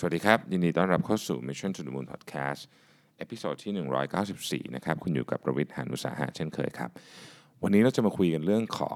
สวัสดีครับยินดีต้อนรับเข้าสู่ Mission to the Moon Podcast เอพิโซดที่194นะครับคุณอยู่กับประวิทย์ หาญอุตสาหะเช่นเคยครับวันนี้เราจะมาคุยกันเรื่องของ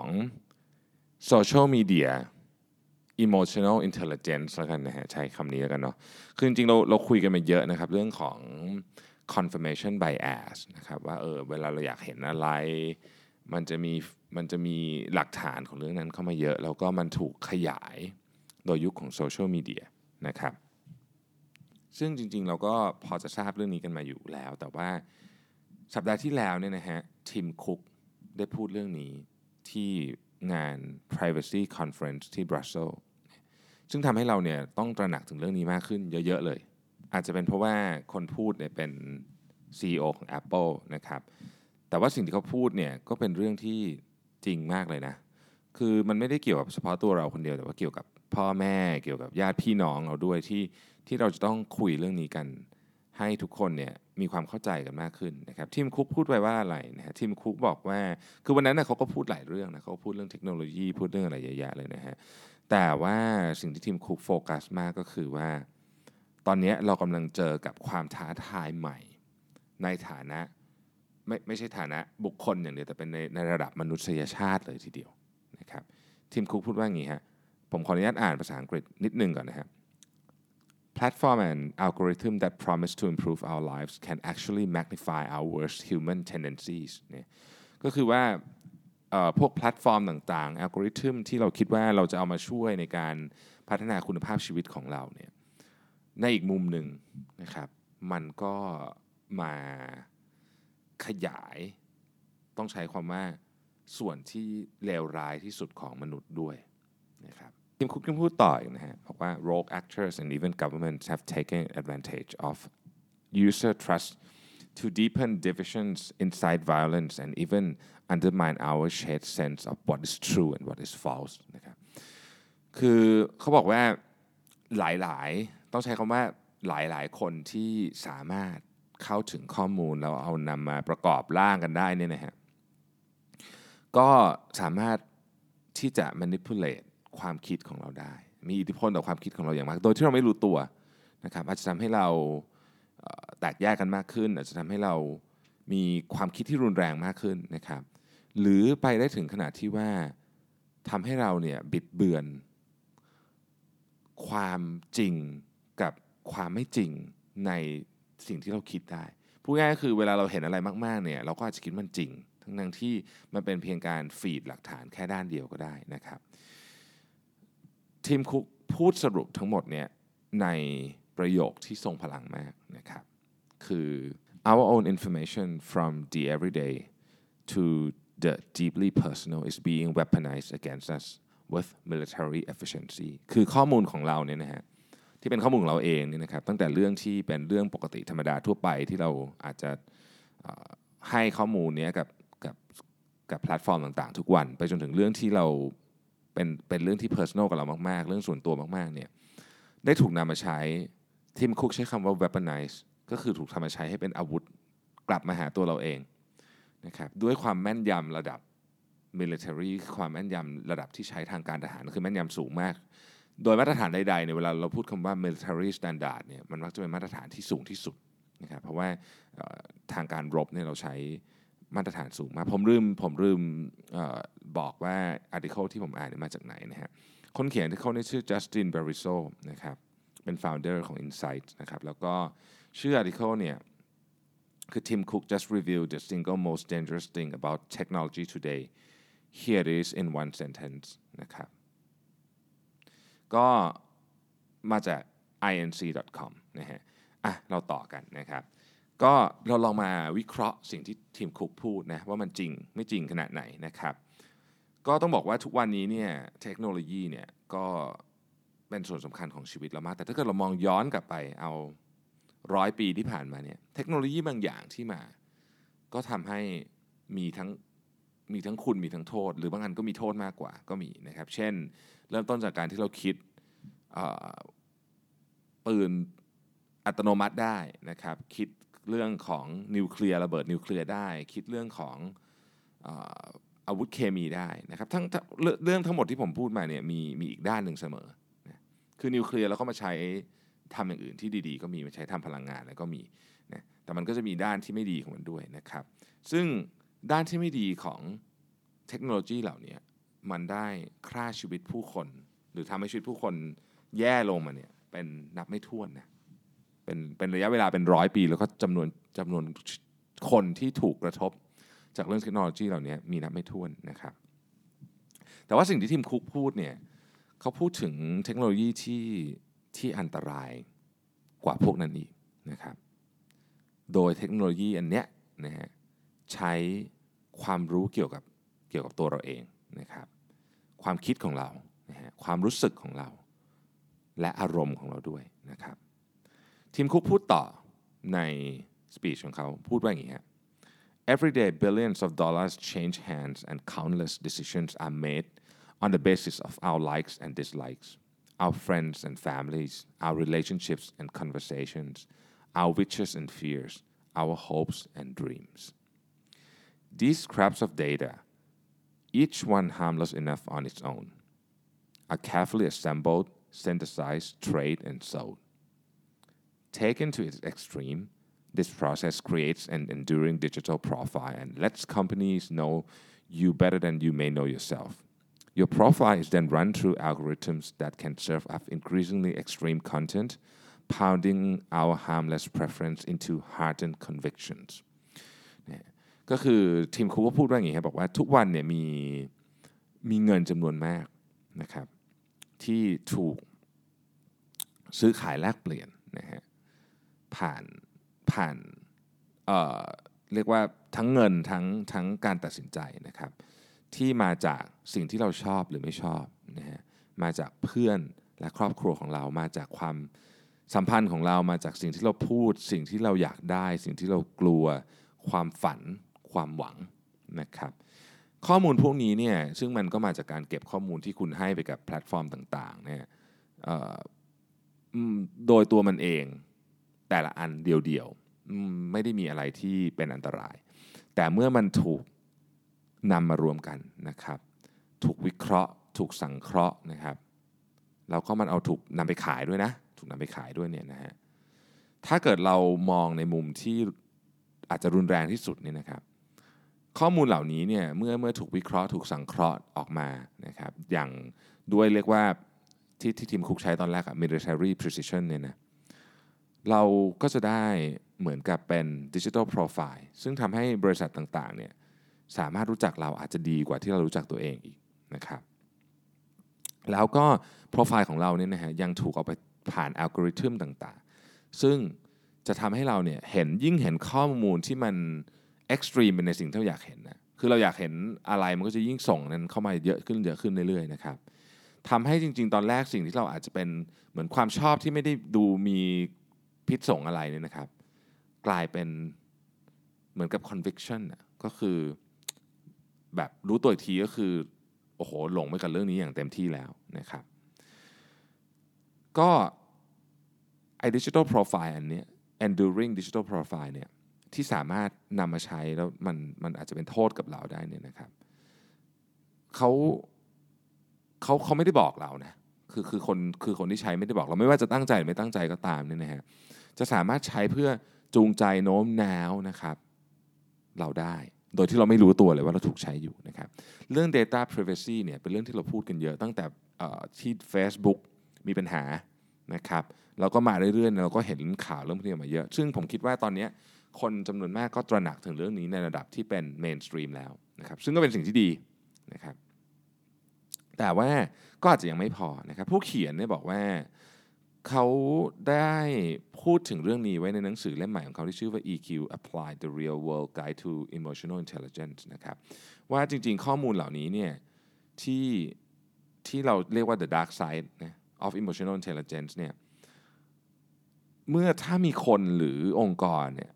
Social Media Emotional Intelligence แล้วกันนะฮะใช้คำนี้แล้วกันเนาะคือจริงๆเราคุยกันมาเยอะนะครับเรื่องของ confirmation bias นะครับว่าเวลาเราอยากเห็นอะไรมันจะมีหลักฐานของเรื่องนั้นเข้ามาเยอะแล้วก็มันถูกขยายโดยยุคของโซเชียลมีเดียนะครับซึ่งจริงๆเราก็พอจะทราบเรื่องนี้กันมาอยู่แล้วแต่ว่าสัปดาห์ที่แล้วเนี่ยนะฮะทีมคุกได้พูดเรื่องนี้ที่งาน Privacy Conference ที่บรัสเซลส์ซึ่งทำให้เราเนี่ยต้องตระหนักถึงเรื่องนี้มากขึ้นเยอะๆเลยอาจจะเป็นเพราะว่าคนพูดเนี่ยเป็น CEO ของ Apple นะครับแต่ว่าสิ่งที่เขาพูดเนี่ยก็เป็นเรื่องที่จริงมากเลยนะคือมันไม่ได้เกี่ยวกับเฉพาะตัวเราคนเดียวแต่ว่าเกี่ยวกับพ่อแม่เกี่ยวกับญาติพี่น้องเราด้วยที่เราจะต้องคุยเรื่องนี้กันให้ทุกคนเนี่ยมีความเข้าใจกันมากขึ้นนะครับทีมคุกพูดไว้ว่าอะไรนะฮะทีมคุกบอกว่าคือวันนั้นนะเขาก็พูดหลายเรื่องนะเขาพูดเรื่องเทคโนโลยีพูดเรื่องอะไรเยอะแยะเลยนะฮะแต่ว่าสิ่งที่ทีมคุกโฟกัสมากก็คือว่าตอนนี้เรากำลังเจอกับความท้าทายใหม่ในฐานะไม่ใช่ฐานะบุคคลอย่างเดียวแต่เป็นในระดับมนุษยชาติเลยทีเดียวนะครับทีมคุกพูดว่าอย่างนี้ฮะผมขออนุญาตอ่านภาษาอังกฤษนิดนึงก่อนนะครับ Platform and algorithm that promise to improve our lives can actually magnify our worst human tendencies เนี่ยก็คือว่าพวกแพลตฟอร์มต่างๆอัลกอริทึมที่เราคิดว่าเราจะเอามาช่วยในการพัฒนาคุณภาพชีวิตของเราเนี่ยในอีกมุมหนึ่งนะครับมันก็มาขยายต้องใช้ความว่าส่วนที่เลวร้ายที่สุดของมนุษย์ด้วยนะครับทีมคุกยังพูดต่ออีกนะฮะบอกว่า rogue actors and even governments have taken advantage of user trust to deepen divisions, incite violence, and even undermine our shared sense of what is true and what is false นะครับคือเขาบอกว่าหลายๆต้องใช้คำว่าหลายๆคนที่สามารถเข้าถึงข้อมูลแล้วเอานำมาประกอบร่างกันได้เนี่ยนะฮะก็สามารถที่จะ manipulate ความคิดของเราได้มีอิทธิพลต่อความคิดของเราอย่างมากโดยที่เราไม่รู้ตัวนะครับอาจจะทำให้เราแตกแยกกันมากขึ้นอาจจะทำให้เรามีความคิดที่รุนแรงมากขึ้นนะครับหรือไปได้ถึงขนาดที่ว่าทำให้เราเนี่ยบิดเบือนความจริงกับความไม่จริงในสิ่งที่เราคิดได้พูดง่ายๆคือเวลาเราเห็นอะไรมากๆเนี่ยเราก็อาจจะคิดมันจริงทั้งที่มันเป็นเพียงการฟีดหลักฐานแค่ด้านเดียวก็ได้นะครับทีมคุกพูดสรุปทั้งหมดเนี่ยในประโยคที่ทรงพลังมากนะครับคือ our own information from the everyday to the deeply personal is being weaponized against us with military efficiency คือข้อมูลของเราเนี่ยนะฮะที่เป็นข้อมูลของเราเองเนี่ยนะครับตั้งแต่เรื่องที่เป็นเรื่องปกติธรรมดาทั่วไปที่เราอาจจะให้ข้อมูลนี้กับแพลตฟอร์มต่างๆทุกวันไปจนถึงเรื่องที่เราเป็นเรื่องที่ personal กับเรามากๆเรื่องส่วนตัวมากๆเนี่ยได้ถูกนำมาใช้ทีมคุกใช้คำว่า weaponize ก็คือถูกทำมาใช้ให้เป็นอาวุธกลับมาหาตัวเราเองนะครับด้วยความแม่นยำระดับ military ความแม่นยำระดับที่ใช้ทางการทหารคือแม่นยำสูงมากโดยมาตรฐานใดๆในเวลาเราพูดคำว่า military standard เนี่ยมันมักจะเป็นมาตรฐานที่สูงที่สุดนะครับเพราะว่าทางการรบเนี่ยเราใช้มาตรฐานสูงมากผมลืมบอกว่า article ที่ผมอ่านมาจากไหนนะฮะคนเขียน article นี่ชื่อ Justin Bariso นะครับเป็น founder ของ Insight นะครับแล้วก็ชื่อ article เนี่ยคือ Tim Cook just reviewed the single most dangerous thing about technology today here it is in one sentence นะครับก็มาจาก inc.com นะฮะเราต่อกันนะครับก็เราลองมาวิเคราะห์สิ่งที่ทีมคุกพูดนะว่ามันจริงไม่จริงขนาดไหนนะครับก็ต้องบอกว่าทุกวันนี้เนี่ยเทคโนโลยีเนี่ยก็เป็นส่วนสำคัญของชีวิตเรามากแต่ถ้าเกิดเรามองย้อนกลับไปเอา100 ปีที่ผ่านมาเนี่ยเทคโนโลยีบางอย่างที่มาก็ทำให้มีทั้งคุณมีทั้งโทษหรือบางอันก็มีโทษมากกว่าก็มีนะครับเช่นเริ่มต้นจากการที่เราคิดปืนอัตโนมัติได้นะครับคิดเรื่องของนิวเคลียร์ระเบิดนิวเคลียร์ได้คิดเรื่องของอาวุธเคมีได้นะครับทั้งเรื่องทั้งหมดที่ผมพูดมาเนี่ยมีอีกด้านหนึ่งเสมอนะคือนิวเคลียร์เราก็มาใช้ทำอย่างอื่นที่ดีๆก็มีมาใช้ทำพลังงานแล้วก็มีนะแต่มันก็จะมีด้านที่ไม่ดีของมันด้วยนะครับซึ่งด้านที่ไม่ดีของเทคโนโลยีเหล่านี้มันได้ฆ่าชีวิตผู้คนหรือทำให้ชีวิตผู้คนแย่ลงมาเนี่ยเป็นนับไม่ถ้วนนะเป็นระยะเวลาเป็น100 ปีแล้วก็จำนวนคนที่ถูกกระทบจากเรื่องเทคโนโลยีเหล่านี้มีนับไม่ถ้วนนะครับแต่ว่าสิ่งที่ทีมคุกพูดเนี่ยเขาพูดถึงเทคโนโลยีที่อันตรายกว่าพวกนั้นอีกนะครับโดยเทคโนโลยีอันเนี้ยนะฮะใช้ความรู้เกี่ยวกับตัวเราเองนะครับความคิดของเรานะฮะความรู้สึกของเราและอารมณ์ของเราด้วยนะครับทีมคุกพูดต่อในสปีชของเขาพูดว่าอย่างนี้ฮะ Every day billions of dollars change hands and countless decisions are made on the basis of our likes and dislikes, our friends and families, our relationships and conversations, our wishes and fears, our hopes and dreams. These scraps of data, each one harmless enough on its own, are carefully assembled, synthesized, traded, and sold. Taken to its extreme, this process creates an enduring digital profile and lets companies know you better than you may know yourself. Your profile is then run through algorithms that can serve up increasingly extreme content, pounding our harmless preference into hardened convictions. ก็คือทีมคุกก็พูดว่าอย่างนี้ครับบอกว่าทุกวันเนี่ยมีเงินจำนวนมากนะครับที่ถูกซื้อขายแลกเปลี่ยนนะฮะผ่านเรียกว่าทั้งเงินทั้งการตัดสินใจนะครับที่มาจากสิ่งที่เราชอบหรือไม่ชอบนะฮะมาจากเพื่อนและครอบครัวของเรามาจากความสัมพันธ์ของเรามาจากสิ่งที่เราพูดสิ่งที่เราอยากได้สิ่งที่เรากลัวความฝันความหวังนะครับข้อมูลพวกนี้เนี่ยซึ่งมันก็มาจากการเก็บข้อมูลที่คุณให้ไปกับแพลตฟอร์มต่างๆเนี่ยโดยตัวมันเองแต่ละอันเดียวๆไม่ได้มีอะไรที่เป็นอันตรายแต่เมื่อมันถูกนำมารวมกันนะครับถูกวิเคราะห์ถูกสังเคราะห์นะครับแล้วก็มันเอาถูกนำไปขายด้วยนะถูกนำไปขายด้วยเนี่ยนะฮะถ้าเกิดเรามองในมุมที่อาจจะรุนแรงที่สุดเนี่ยนะครับข้อมูลเหล่านี้เนี่ยเมื่อถูกวิเคราะห์ถูกสังเคราะห์ออกมานะครับอย่างด้วยเรียกว่าที่ทีมคุกใช้ตอนแรกอะ military precision เนี่ยนะเราก็จะได้เหมือนกับเป็น digital profile ซึ่งทำให้บริษัทต่างๆเนี่ยสามารถรู้จักเราอาจจะดีกว่าที่เรารู้จักตัวเองอีกนะครับแล้วก็โปรไฟล์ของเราเนี่ยนะฮะยังถูกเอาไปผ่านอัลกอริทึมต่างๆซึ่งจะทำให้เราเนี่ยยิ่งเห็นข้อมูลที่มันเอ็กซ์ตรีมเป็นในสิ่งที่เราอยากเห็นนะคือเราอยากเห็นอะไรมันก็จะยิ่งส่งนั้นเข้ามาเยอะขึ้นเรื่อยๆนะครับทำให้จริงๆตอนแรกสิ่งที่เราอาจจะเป็นเหมือนความชอบที่ไม่ได้ดูมีพิษสงอะไรเนี่ยนะครับกลายเป็นเหมือนกับ conviction ก็คือแบบรู้ตัวอีกทีก็คือโอ้โหหลงไปกับเรื่องนี้อย่างเต็มที่แล้วนะครับก็ไอ้ digital profile อันนี้ enduring digital profile เนี่ยที่สามารถนำมาใช้แล้วมันอาจจะเป็นโทษกับเราได้เนี่ยนะครับเขาไม่ได้บอกเรานะคือคนที่ใช้ไม่ได้บอกเราไม่ว่าจะตั้งใจหรือไม่ตั้งใจก็ตามเนี่ยนะฮะจะสามารถใช้เพื่อจูงใจโน้มน้าวนะครับเราได้โดยที่เราไม่รู้ตัวเลยว่าเราถูกใช้อยู่นะครับเรื่อง data privacy เนี่ยเป็นเรื่องที่เราพูดกันเยอะตั้งแต่ที่ Facebook มีปัญหานะครับเราก็มาเรื่อยๆเราก็เห็นข่าวเรื่องพวกนี้มาเยอะซึ่งผมคิดว่าตอนนี้คนจำนวนมากก็ตระหนักถึงเรื่องนี้ในระดับที่เป็น mainstream แล้วนะครับซึ่งก็เป็นสิ่งที่ดีนะครับแต่ว่าก็อาจจะยังไม่พอนะครับผู้เขียนเนี่ยบอกว่าเขาได้พูดถึงเรื่องนี้ไว้ในหนังสือเล่มใหม่ของเขาที่ชื่อว่า EQ Applied: The Real World Guide to Emotional Intelligence นะครับว่าจริงๆข้อมูลเหล่านี้เนี่ยที่เราเรียกว่า the dark side of emotional intelligence เนี่ยถ้ามีคนหรือองค์กรเนี่ย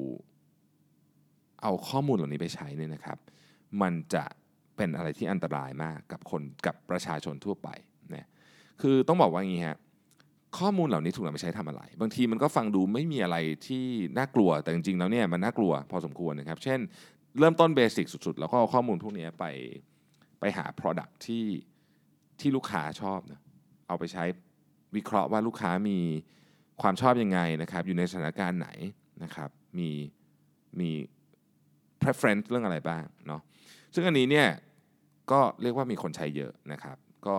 เอาข้อมูลเหล่านี้ไปใช้เนี่ยนะครับมันจะเป็นอะไรที่อันตรายมากกับประชาชนทั่วไปนะคือต้องบอกว่าอย่างนี้ฮะข้อมูลเหล่านี้ถูกนำไปใช้ทำอะไรบางทีมันก็ฟังดูไม่มีอะไรที่น่ากลัวแต่จริงๆแล้วเนี่ยมันน่ากลัวพอสมควรนะครับเช่นเริ่มต้นเบสิกสุดๆแล้วก็เอาข้อมูลพวกนี้ไปหา product ที่ลูกค้าชอบนะเอาไปใช้วิเคราะห์ว่าลูกค้ามีความชอบยังไงนะครับอยู่ในสถานการณ์ไหนนะครับมี preference เรื่องอะไรบ้างเนาะซึ่งอันนี้เนี่ยก็เรียกว่ามีคนใช้เยอะนะครับก็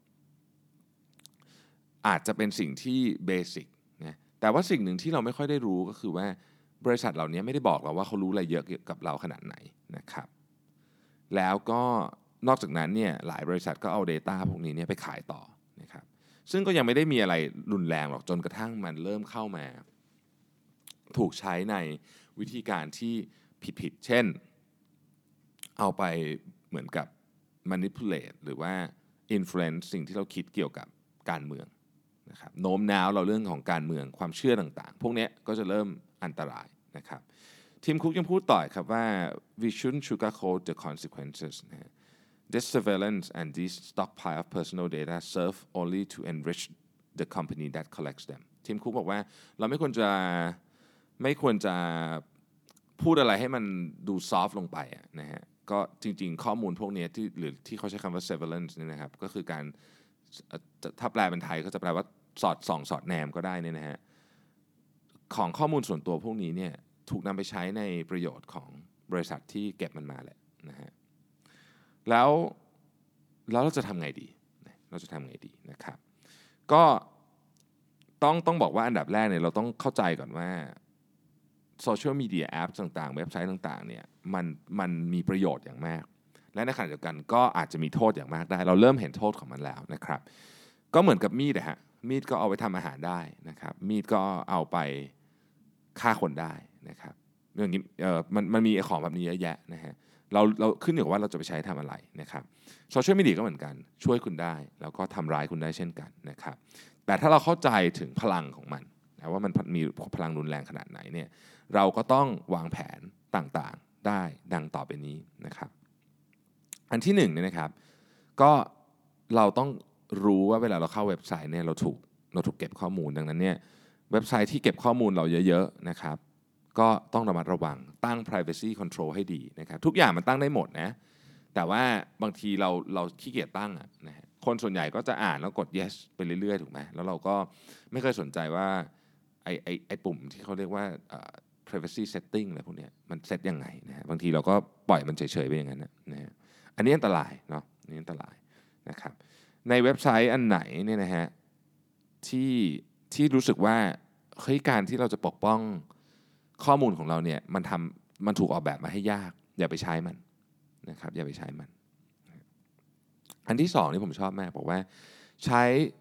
อาจจะเป็นสิ่งที่เบสิกนะแต่ว่าสิ่งหนึ่งที่เราไม่ค่อยได้รู้ก็คือว่าบริษัทเหล่านี้ไม่ได้บอกเราว่าเขารู้อะไรเยอะเกี่ยวกับเราขนาดไหนนะครับแล้วก็นอกจากนั้นเนี่ยหลายบริษัทก็เอา Data พวกนี้เนี่ยไปขายต่อนะครับซึ่งก็ยังไม่ได้มีอะไรรุนแรงหรอกจนกระทั่งมันเริ่มเข้ามาถูกใช้ในวิธีการที่ผิดๆเช่นเอาไปเหมือนกับ manipulate หรือว่า influence สิ่งที่เราคิดเกี่ยวกับการเมืองนะครับโน้มน้าวเราเรื่องของการเมืองความเชื่อต่างๆพวกนี้ก็จะเริ่มอันตรายนะครับทีมคุกยังพูดต่อครับว่า we shouldn't sugarcoat the consequences นะ This surveillance and this stockpile of personal data serve only to enrich the company that collects them ทีมคุกบอกว่าเราไม่ควรจะพูดอะไรให้มันดูซอฟต์ลงไปนะฮะก็จริงๆข้อมูลพวกนี้ที่เขาใช้คำว่า surveillance นี่นะครับก็คือการถ้าแปลเป็นไทยก็จะแปลว่าสอดส่องสอดแนมก็ได้เนี่ยนะฮะของข้อมูลส่วนตัวพวกนี้เนี่ยถูกนำไปใช้ในประโยชน์ของบริษัทที่เก็บมันมาแหละนะฮะแล้วเราจะทำไงดีนะครับก็ต้องบอกว่าอันดับแรกเนี่ยเราต้องเข้าใจก่อนว่าโซเชียลมีเดียแอปต่างๆเว็บไซต์ต่างๆเนี่ยมันมีประโยชน์อย่างมากและในขณะเดียวกันก็อาจจะมีโทษอย่างมากได้เราเริ่มเห็นโทษของมันแล้วนะครับก็เหมือนกับมีดนะฮะมีดก็เอาไปทำอาหารได้นะครับมีดก็เอาไปฆ่าคนได้นะครับเรื่องนี้มันมีของแบบนี้เยอะแยะนะฮะเราขึ้นอยู่กับว่าเราจะไปใช้ทำอะไรนะครับโซเชียลมีเดียก็เหมือนกันช่วยคุณได้แล้วก็ทำร้ายคุณได้เช่นกันนะครับแต่ถ้าเราเข้าใจถึงพลังของมันนะว่ามันมีพลังรุนแรงขนาดไหนเนี่ยเราก็ต้องวางแผนต่างๆได้ดังต่อไปนี้นะครับอันที่หนึ่งเนี่ยนะครับก็เราต้องรู้ว่าเวลาเราเข้าเว็บไซต์เนี่ยเราถูกเก็บข้อมูลดังนั้นเนี่ยเว็บไซต์ที่เก็บข้อมูลเราเยอะๆนะครับก็ต้องระมัดระวังตั้ง privacy control ให้ดีนะครับทุกอย่างมันตั้งได้หมดนะแต่ว่าบางทีเราขี้เกียจตั้งนะฮะคนส่วนใหญ่ก็จะอ่านแล้วกด yes ไปเรื่อยๆถูกไหมแล้วเราก็ไม่เคยสนใจว่าไอ้ปุ่มที่เขาเรียกว่าprivacy setting อะไรพวกนี้มันเซตยังไงนะฮะบางทีเราก็ปล่อยมันเฉยๆไปอย่างนั้นนะฮะอันนี้อันตรายเนาะนี่อันตรายนะครับในเว็บไซต์อันไหนเนี่ยนะฮะที่รู้สึกว่าเฮ้ยการที่เราจะปกป้องข้อมูลของเราเนี่ยมันถูกออกแบบมาให้ยากอย่าไปใช้มันนะครับอย่าไปใช้มันอันที่สองนี่ผมชอบมากบอกว่าใช้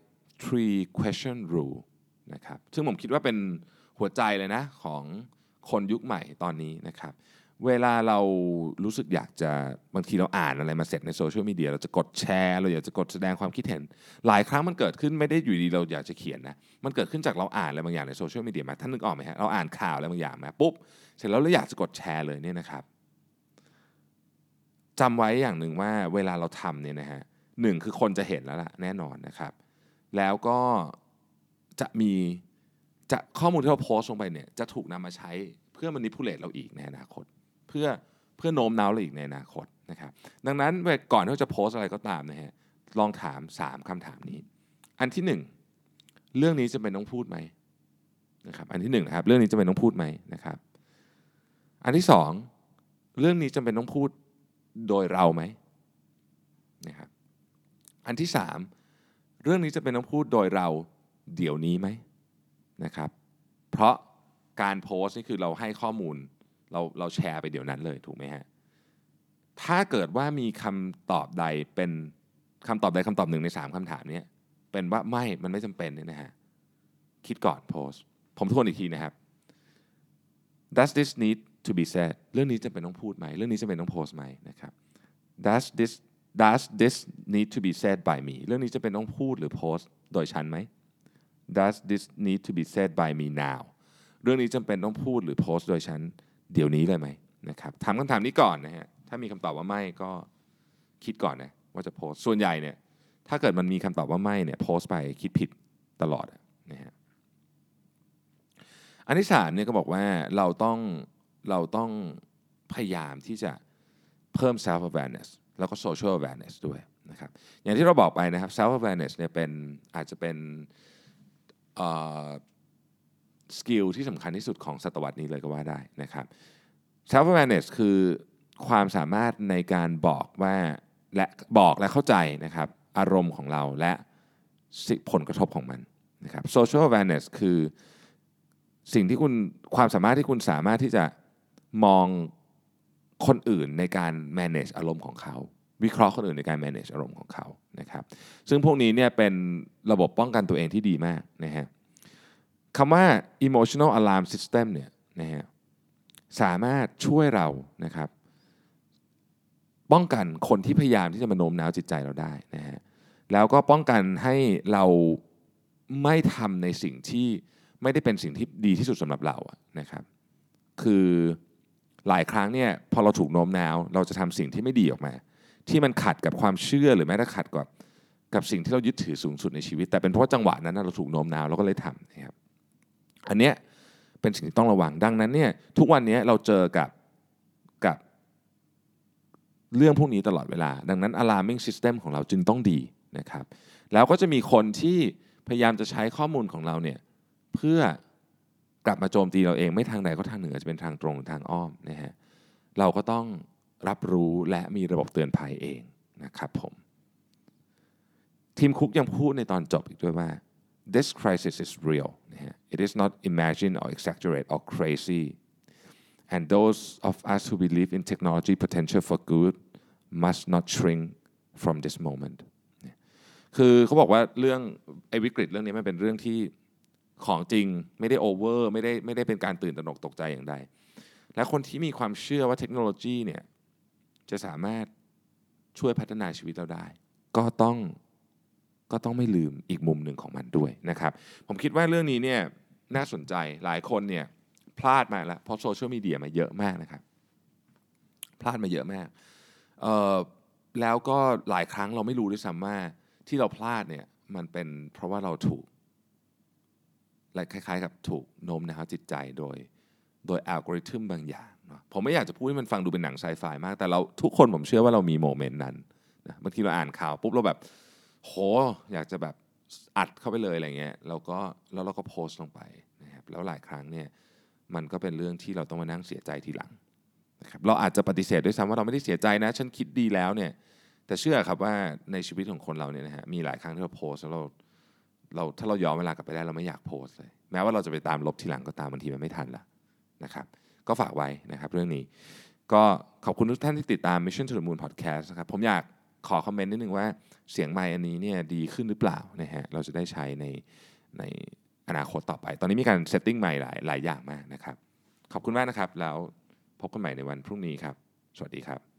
three question rule นะครับซึ่งผมคิดว่าเป็นหัวใจเลยนะของคนยุคใหม่ตอนนี้นะครับเวลาเรารู้สึกอยากจะบางทีเราอ่านอะไรมาเสร็จในโซเชียลมีเดียเราจะกดแชร์เราอยากจะกดแสดงความคิดเห็นหลายครั้งมันเกิดขึ้นไม่ได้อยู่ดีเราอยากจะเขียนนะมันเกิดขึ้นจากเราอ่านอะไรบางอย่างในโซเชียลมีเดียมาท่านนึกออกไหมฮะเราอ่านข่าวอะไรบางอย่างมาปุ๊บเสร็จแล้วเราอยากจะกดแชร์เลยเนี่ยนะครับจำไว้อย่างหนึ่งว่าเวลาเราทำเนี่ยนะฮะหนึ่งคือคนจะเห็นแล้วล่ะแน่นอนนะครับแล้วก็จะข้อมูลที่เราโพสต์ลงไปเนี่ยจะถูกนำมาใช้เพื่อ manipulate เราอีกในอนาคตเพื่อโน้มน้าวเราอีกในอนาคตนะครับดังนั้นก่อนที่เราจะโพสต์อะไรก็ตามนะฮะลองถาม3คำถามนี้อันที่1เรื่องนี้จำเป็นต้องพูดไหมนะครับอันที่1นะครับเรื่องนี้จำเป็นต้องพูดไหมนะครับอันที่2เรื่องนี้จำเป็นต้องพูดโดยเราไหมนะครับอันที่3เรื่องนี้จำเป็นต้องพูดโดยเราเดี๋ยวนี้ไหมนะครับเพราะการโพสต์นี่คือเราให้ข้อมูลเราแชร์ไปเดี๋ยวนั้นเลยถูกไหมฮะถ้าเกิดว่ามีคำตอบใดเป็นคำตอบใดคำตอบหนึ่งใน3คำถามนี้เป็นว่ามันไม่จำเป็นเนี่ยนะฮะคิดก่อนโพสต์ผมทวนอีกทีนะครับ Does this need to be said เรื่องนี้จำเป็นต้องพูดไหมเรื่องนี้จำเป็นต้องโพสต์ไหมนะครับ Does this need to be said by me เรื่องนี้จำเป็นต้องพูดหรือโพสต์โดยฉันไหมDoes this need to be said by me now เรื่องนี้จำเป็นต้องพูดหรือโพสต์โดยฉันเดี๋ยวนี้เลยไหมนะครับถามคำถามนี้ก่อนนะฮะถ้ามีคำตอบว่าไม่ก็คิดก่อนนะว่าจะโพสต์ส่วนใหญ่เนี่ยถ้าเกิดมันมีคำตอบว่าไม่เนี่ยโพสต์ไปคิดผิดตลอดนะฮะอันที่3เนี่ยก็บอกว่าเราต้องพยายามที่จะเพิ่ม self awareness แล้วก็ social awareness ด้วยนะครับอย่างที่เราบอกไปนะครับ self awareness เนี่ยอาจจะเป็นสกิลที่สำคัญที่สุดของศตวรรษนี้เลยก็ว่าได้นะครับ self awareness คือความสามารถในการบอกและเข้าใจนะครับอารมณ์ของเราและผลกระทบของมันนะครับ social awareness คือความสามารถที่คุณสามารถที่จะมองคนอื่นในการ manage อารมณ์ของเขาวิเคราะห์คนอื่นในการ manage อารมณ์ของเขานะครับซึ่งพวกนี้เนี่ยเป็นระบบป้องกันตัวเองที่ดีมากนะฮะคำว่า emotional alarm system เนี่ยนะฮะสามารถช่วยเรานะครับป้องกันคนที่พยายามที่จะมาโน้มน้าวจิตใจเราได้นะฮะแล้วก็ป้องกันให้เราไม่ทำในสิ่งที่ไม่ได้เป็นสิ่งที่ดีที่สุดสำหรับเรานะครับคือหลายครั้งเนี่ยพอเราถูกโน้มน้าวเราจะทำสิ่งที่ไม่ดีออกมาที่มันขัดกับความเชื่อหรือแม้แต่ขัดกับสิ่งที่เรายึดถือสูงสุดในชีวิตแต่เป็นเพราะว่าจังหวะนั้นเราถูกโน้มน้าวเราก็เลยทำนะครับอันเนี้ยเป็นสิ่งที่ต้องระวังดังนั้นเนี่ยทุกวันนี้เราเจอกับเรื่องพวกนี้ตลอดเวลาดังนั้น alarming system ของเราจึงต้องดีนะครับแล้วก็จะมีคนที่พยายามจะใช้ข้อมูลของเราเนี่ยเพื่อกลับมาโจมตีเราเองไม่ทางใดก็ทางหนึ่งอาจจะเป็นทางตรงหรือทางอ้อมนะฮะเราก็ต้องรับรู้และมีระบบเตือนภัยเองนะครับผมทีมคุกยังพูดในตอนจบอีกด้วยว่า this crisis is real นะฮะ it is not imagined or exaggerate or crazy and those of us who believe in technology potential for good must not shrink from this moment คือเขาบอกว่าเรื่องวิกฤตเรื่องนี้มันเป็นเรื่องที่ของจริงไม่ได้โอเวอร์ไม่ได้เป็นการตื่นตระหนกตกใจอย่างใดและคนที่มีความเชื่อว่าเทคโนโลยีเนี่ยจะสามารถช่วยพัฒนาชีวิตเราได้ก็ต้องไม่ลืมอีกมุมหนึ่งของมันด้วยนะครับผมคิดว่าเรื่องนี้เนี่ยน่าสนใจหลายคนเนี่ยพลาดมาแล้วเพราะโซเชียลมีเดียมาเยอะมากนะครับพลาดมาเยอะมากแล้วก็หลายครั้งเราไม่รู้ด้วยซ้ำว่าที่เราพลาดเนี่ยมันเป็นเพราะว่าเราถูกและคล้ายๆกับถูกโน้มน้าวจิตใจโดยอัลกอริทึมบางอย่างเนาะผมไม่อยากจะพูดให้มันฟังดูเป็นหนังไซไฟมากแต่เราทุกคนผมเชื่อว่าเรามีโมเมนต์นั้นนะบางทีเราอ่านข่าวปุ๊บเราแบบโหอยากจะแบบอัดเข้าไปเลยอะไรเงี้ยแล้วเราก็โพสต์ลงไปนะครับแล้วหลายครั้งเนี่ยมันก็เป็นเรื่องที่เราต้องมานั่งเสียใจทีหลังนะครับเราอาจจะปฏิเสธด้วยซ้ำว่าเราไม่ได้เสียใจนะฉันคิดดีแล้วเนี่ยแต่เชื่อครับว่าในชีวิตของคนเราเนี่ยนะฮะมีหลายครั้งที่เราโพสต์แล้วถ้าเราย้อนเวลากลับไปได้เราไม่อยากโพสต์เลยแม้ว่าเราจะไปตามลบทีหลังก็ตามบางทีมันไม่ทันละนะครับก็ฝากไว้นะครับเรื่องนี้ก็ขอบคุณทุกท่านที่ติดตาม Mission to the Moon Podcast นะครับผมอยากขอคอมเมนต์นิดนึงว่าเสียงไมค์อันนี้เนี่ยดีขึ้นหรือเปล่านะฮะเราจะได้ใช้ในอนาคตต่อไปตอนนี้มีการเซตติ้งใหม่หลายอย่างมากนะครับขอบคุณมากนะครับแล้วพบกันใหม่ในวันพรุ่งนี้ครับสวัสดีครับ